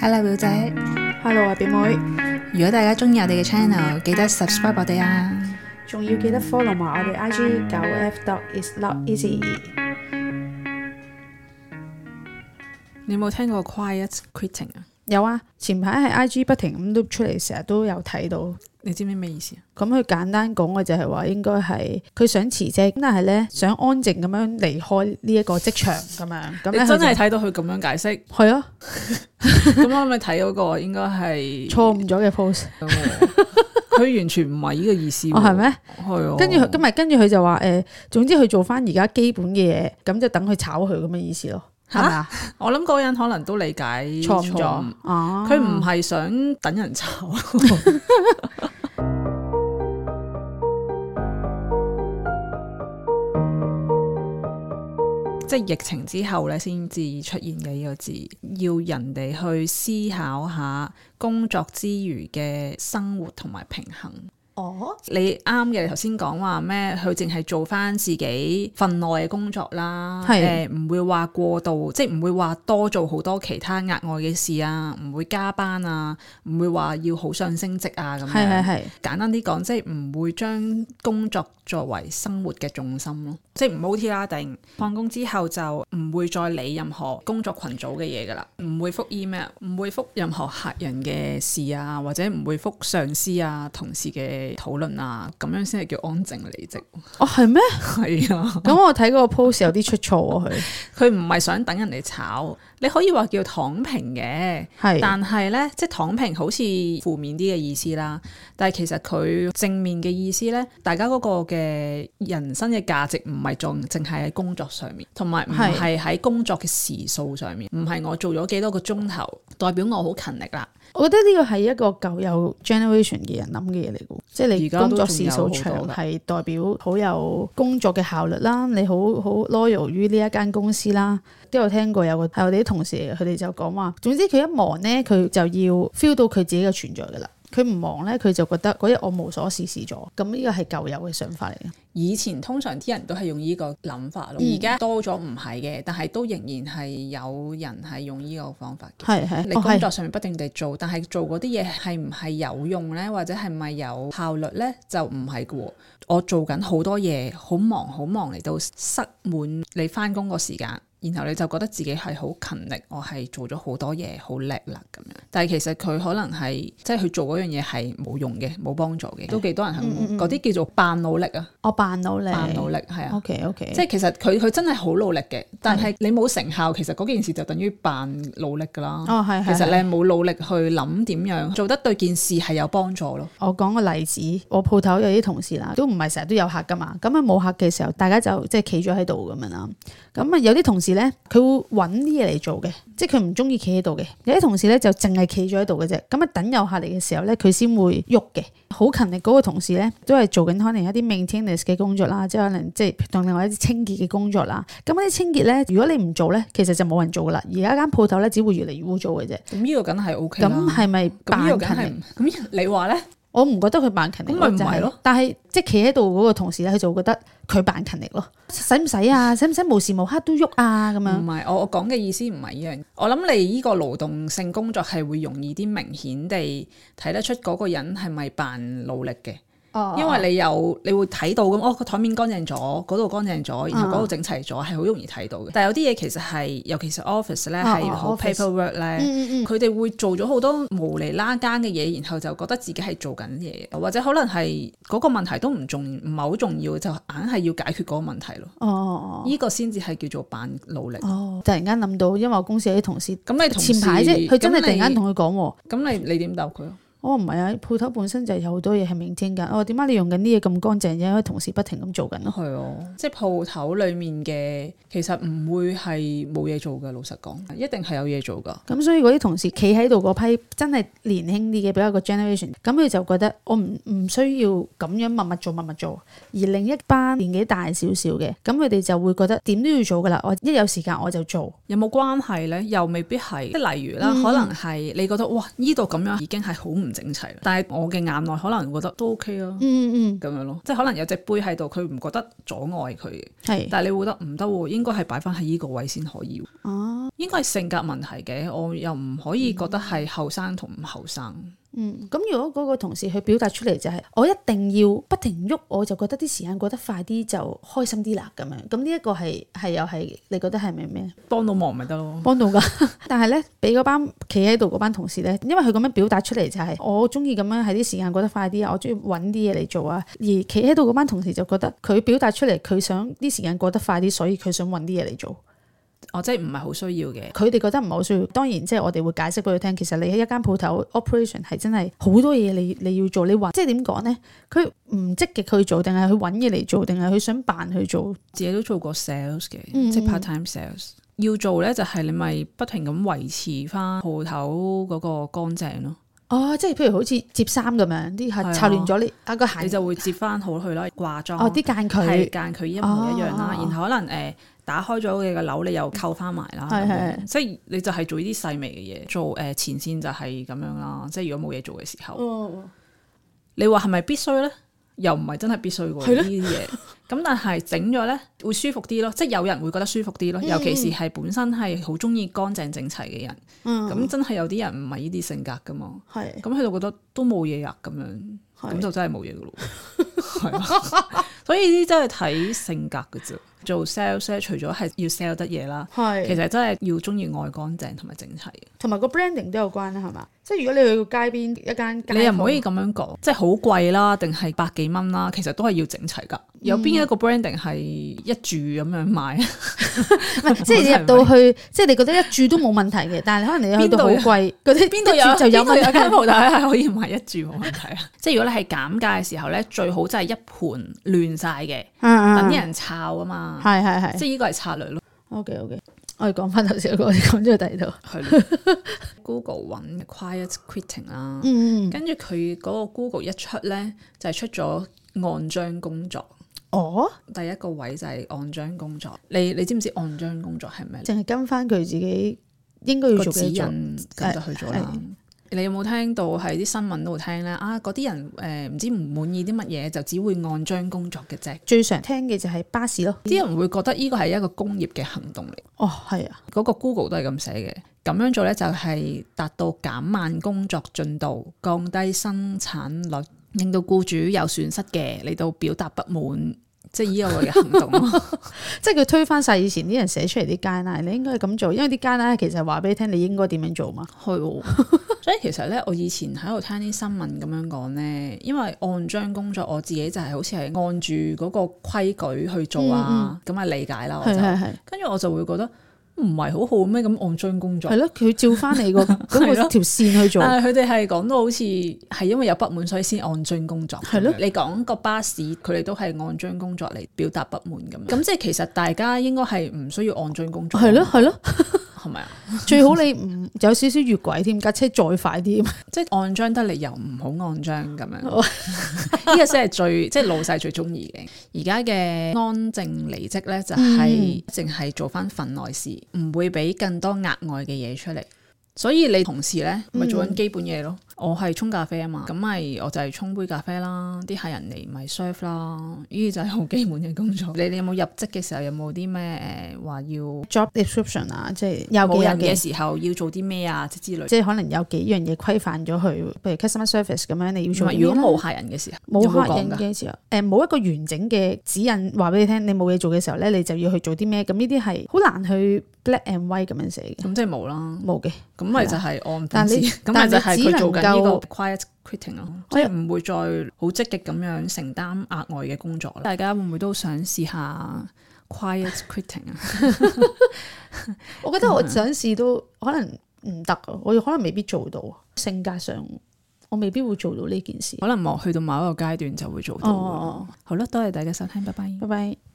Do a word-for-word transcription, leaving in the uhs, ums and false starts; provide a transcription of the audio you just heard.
Hello 表姐 Hello 啊表妹， 如果大家中意我哋嘅 channel， 記得 subscribe 我哋啊， 仲要記得 follow 埋我哋 I G 九 F dot is not easy。 你有冇聽過 quiet quitting 啊？ 有啊，前排喺 I G 不停咁碌出嚟，成日都有睇到。 你知唔知咩意思啊？ 咁佢簡單講嘅就係話，應該係佢想辭職，但係咧想安靜咁樣離開呢一個職場咁樣。咁你真係睇到佢咁樣解釋？係啊。咁我咪睇嗰個應該係錯誤咗嘅 post。 佢完全唔係呢個意思。 哦，係咩？ 係啊。跟住今日跟住佢就話誒、呃，總之佢做翻而家基本嘅嘢，咁就等佢炒佢咁嘅意思咯。係咪啊？ 我諗嗰個人可能都理解錯誤咗。佢唔係想等人炒。即係疫情之後咧，先至出現嘅呢個字，要人哋去思考下工作之餘嘅生活同埋平衡。哦，你啱嘅，你頭先講話咩？佢淨係做翻自己份內嘅工作啦，誒唔、呃、會話過度，即係唔會話多做好多其他額外嘅事啊，唔會加班啊，唔會話要好想升職啊咁樣。係係係，簡單啲講，即係唔會將工作作為生活嘅重心咯，即係唔 O T 啦，定放工之後就唔會再理任何工作群組嘅嘢噶啦，唔會覆 email， 唔會覆任何客人嘅事啊，或者唔會覆上司啊、同事嘅討論啊，咁樣先係叫安靜離職。 哦，係咩？ 係啊。咁我睇嗰個 post 有啲出錯啊，佢佢唔係想等人哋炒，你可以話叫躺平嘅， 係， 但係呢，即係躺平好似負面啲嘅意思啦，但係其實佢正面嘅意思呢，大家嗰個嘅人生嘅價值唔係仲淨係喺工作上面，同埋唔係喺工作嘅時數上面，唔係我做咗幾多個鐘頭代表我好勤力啦。 我覺得呢個係一個舊有 generation 嘅人諗嘅嘢嚟嘅，即係你工作時數長係代表好有工作嘅效率啦，你好好 loyal 於呢一間公司啦。都有聽過有個係我哋啲同事，佢哋就講話，總之佢一忙呢，佢就要 feel 到佢自己嘅存在噶啦。佢唔忙呢，佢就覺得嗰日我無所事事咗。咁呢個係舊有嘅想法嚟嘅。 以前通常啲人都係用呢個諗法咯，而家、嗯、多咗唔係嘅，但係都仍然係有人係用呢個方法嘅。係係，你工作上面不斷地做，哦、但係做嗰啲嘢係唔係有用呢？或者係咪有效率呢？就唔係嘅。我做緊好多嘢，好忙好忙嚟到塞滿你翻工個時間。然後你就覺得自己係好勤力，我係做咗好多嘢，好叻啦咁樣。但係其實佢可能係即係佢做嗰樣嘢係冇用嘅，冇幫助嘅。都幾多人係嗰啲叫做扮努力啊。我扮努力，扮努力係啊。OK OK。即係其實佢佢真係好努力嘅，但係你冇成效，其實嗰件事就等於扮努力噶啦。哦係係。其實你冇努力去諗點樣做得對件事係有幫助咯。我講個例子，我鋪頭有啲同事啦，都唔係成日都有客噶嘛。咁啊冇客嘅時候，大家就即係企咗喺度咁樣啦。咁啊有啲同事咧，佢會揾啲嘢嚟做嘅，即係佢唔中意企喺度嘅。有啲同事咧就淨係企咗喺度嘅啫。咁啊等有客嚟嘅時候咧，佢先會喐嘅。好勤力嗰個同事咧，都係做緊可能一啲 maintenance 嘅工作啦，即係可能即係同另外一啲清潔嘅工作啦。咁嗰啲清潔咧，如果你唔做咧，其實就冇人做噶啦。而家間鋪頭咧，只會越嚟越污糟嘅啫。咁呢個梗係 O K 啦。咁係咪扮勤力？咁你話咧？我唔覺得佢扮勤力，咁咪唔係咯？但係即係企喺度嗰個同事咧，佢就會覺得佢扮勤力咯。使唔使啊？使唔使無時無刻都喐啊？咁樣唔係，我我講嘅意思唔係呢樣。我諗你呢個勞動性工作係會容易啲明顯地睇得出嗰個人係咪扮努力嘅。哦、因為你有你會睇到咁，哦個台面乾淨咗，嗰度乾淨咗，然後嗰度整齊咗，係好、嗯、容易睇到嘅。但係有啲嘢其實係，尤其是 office 咧係好 paperwork 咧，佢哋會做咗好多無厘啦更嘅嘢，然後就覺得自己係做緊嘢，或者可能係嗰個問題都唔重唔係好重要，就硬係要解決嗰個問題咯。哦，呢個先至係叫做扮努力。哦，突然間諗到，因為我公司有啲同事，咁你前排啫，佢真係突然間同佢講，咁你你點答佢？我唔係啊，鋪頭本身就有好多嘢係maintain緊。我點解你用緊啲嘢咁乾淨？因為同事不停咁做緊咯。係啊，即係鋪頭裡面嘅其實唔會係冇嘢做嘅。老實講，一定係有嘢做㗎。咁所以嗰啲同事企喺度嗰批真係年輕啲嘅，比較個 generation，咁佢就覺得我唔唔需要咁樣默默做默默做。而另一班年紀大少少嘅，咁佢哋就會覺得點都要做㗎啦。我一有時間我就做。有冇關係呢？又未必係。即係例如啦，嗯、可能係你覺得哇，呢度咁樣已經係好唔唔整齊，但係我嘅眼內可能覺得都 OK 咯，嗯嗯咁樣咯，即係可能有隻杯喺度，佢唔覺得阻礙佢嘅，係，但係你會覺得唔得喎，應該係擺翻喺呢個位先可以，哦，應該係性格問題嘅，我又唔可以覺得係後生同唔後生。 嗯，咁如果嗰個同事去表達出嚟就係、是、我一定要不停喐，我就覺得啲時間過得快啲就開心啲啦咁樣。咁呢一個係係又係你覺得係咪咩？ 幫到忙咪得咯， 幫到㗎。但係咧，俾嗰班企喺度嗰班同事咧，因為佢咁樣表達出嚟就係、是、我中意咁樣喺啲時間過得快啲啊，我中意揾啲嘢嚟做啊。而企喺度嗰班同事就覺得佢表達出嚟佢想啲時間過得快啲，所以佢想揾啲嘢嚟做。 哦，即係唔係好需要嘅， 佢哋覺得唔係好需要。當然即係我哋會解釋俾佢聽，其實你喺一間鋪頭 operation 係真係好多嘢你你要做。你話即係點講呢？佢唔積極去做，定係去揾嘢嚟做，定係佢想扮去做？自己都做過 sales 嘅，嗯、即係 part time sales。要做呢，就係你咪不停咁維持翻鋪頭嗰個乾淨咯。 哦，即係譬如好似摺衫咁樣，啲係擦亂咗你啊個鞋， 你就會摺翻好佢啦，掛裝。 哦，啲間距係間距一模一樣啦，哦、然後可能誒。呃打開咗嘅個鈕，你又扣翻埋啦，係係，即係你就係做呢啲細微嘅嘢，做誒、呃、前線就係咁樣啦。即係如果冇嘢做嘅時候，哦、你話係咪必須咧？又唔係真係必須喎呢啲嘢。咁但係整咗咧會舒服啲咯，即係有人會覺得舒服啲咯。嗯、尤其是係本身係好中意乾淨整齊嘅人，咁、嗯、真係有啲人唔係呢啲性格噶嘛。係咁佢就覺得都冇嘢啊，咁樣咁就真係冇嘢噶咯。係啊，所以呢啲真係睇性格噶啫。做 sales 除咗係要 sell 得嘢啦，係其實真係要中意愛乾淨同埋整齊，同埋個 branding 都有關啦，係嘛？即係如果你去街邊一間， 你又唔可以咁樣講，即係好貴啦，定係百幾蚊啦，其實都係要整齊噶。有邊一個 branding 係一注咁樣賣？ 唔係，即係入到去，即係你覺得一注都冇問題嘅，但係可能你去到好貴，嗰啲邊度有就有問題。 間鋪頭係可以賣一注冇問題啊！即係如果你係減價嘅時候咧，最好真係一盤亂晒嘅，等啲人炒啊嘛。 係係係， 即係呢個係策略咯。 OK OK，我哋講翻頭先嗰個，我哋講咗去第二度。 係 Google 揾 quiet quitting 啦，嗯，跟住佢嗰個 Google 一出咧，就係、是、出咗按章工作。哦，第一個位就係按章工作。你你知唔知按章工作係咩？ 淨係跟翻佢自己應該要做嘅指引，咁就去做啦。哎哎、你有冇聽到喺啲新聞度聽咧？啊，嗰啲人誒唔、呃、知唔滿意啲乜嘢，就只會按章工作嘅啫。 最常聽嘅就係巴士咯。 啲人會覺得呢個係一個工業嘅行動嚟。 哦，係啊， 嗰個 Google 都係咁寫嘅。咁樣做咧就係達到減慢工作進度、降低生產率，令到僱主有損失嘅嚟到表達不滿。即係呢個嘅行動即係佢推翻晒以前啲人寫出嚟啲 guideline，你應該係咁做，因為啲 guideline其實話俾你聽你應該點樣做嘛。係喎，所以其實咧，我以前喺度聽啲新聞咁樣講咧，因為按章工作，我自己就係好似係按住嗰個規矩去做啊，咁啊、嗯嗯、理解啦，我就跟住我就會覺得。唔係好好咩？咁按章工作係咯，佢照翻你個嗰個條線去做。但係佢哋係講到好似係因為有不滿，所以先按章工作。係咯，你講個巴士，佢哋都係按章工作嚟表達不滿咁樣。咁即係其實大家應該係唔需要按章工作。係咯，係咯。係咪啊？最好你唔有少少越軌添，架車再快啲，即係按章得嚟又唔好按章咁樣。呢個先係最即係老細最中意嘅。而家嘅安靜離職咧，就係淨係做翻份內事，唔、嗯、會俾更多額外嘅嘢出嚟。所以你同事咧咪做緊基本嘢咯。我係沖咖啡啊嘛，咁咪我就係沖杯咖啡啦，啲客人嚟咪 serve 啦，呢啲就係好基本嘅工作。你哋有冇入職嘅時候有冇啲咩誒話要 job description 啊？即係有冇人嘅時候要做啲咩啊？即之類，即係可能有幾樣嘢規範咗佢，譬如 customer service 咁樣你要做。如果冇客人嘅時候，冇客人嘅時候，誒冇一個完整嘅指引話俾你聽，你冇嘢做嘅時候咧，你就要去做啲咩？咁呢啲係好難去 black and white 咁樣寫嘅。咁即係冇啦，冇嘅。咁咪就係按本子，咁咪就係佢做緊呢個 quiet quitting 咯，即係唔會再好積極咁樣承擔額外嘅工作啦。大家會唔會都想試下 quiet quitting 啊？我覺得我想試都可能唔得啊，我可能未必做到。性格上我未必會做到呢件事，可能我去到某一個階段就會做到。哦，好啦，多謝大家收聽，拜拜，拜拜。